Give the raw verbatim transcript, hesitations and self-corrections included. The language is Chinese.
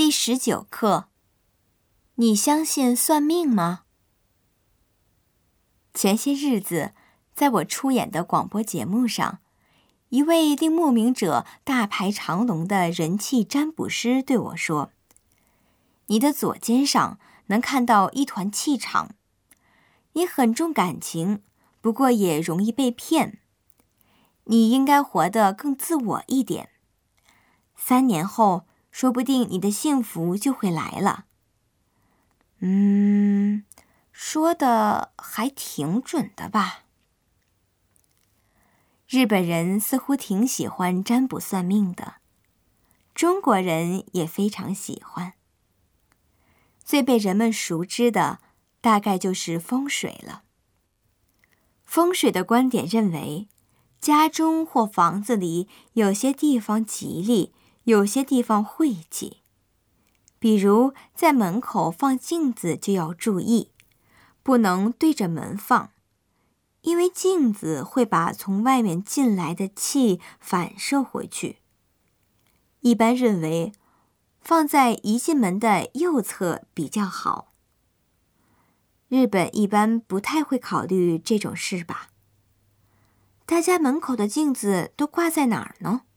第十九课，你相信算命吗？前些日子，在我出演的广播节目上，一位令慕名者大排长龙的人气占卜师对我说：“你的左肩上能看到一团气场，你很重感情，不过也容易被骗。你应该活得更自我一点。三年后，说不定你的幸福就会来了。”嗯，说的还挺准的吧？日本人似乎挺喜欢占卜算命的，中国人也非常喜欢。最被人们熟知的，大概就是风水了。风水的观点认为，家中或房子里有些地方吉利，有些地方晦气。比如在门口放镜子就要注意，不能对着门放，因为镜子会把从外面进来的气反射回去。一般认为，放在一进门的右侧比较好。日本一般不太会考虑这种事吧？大家门口的镜子都挂在哪儿呢？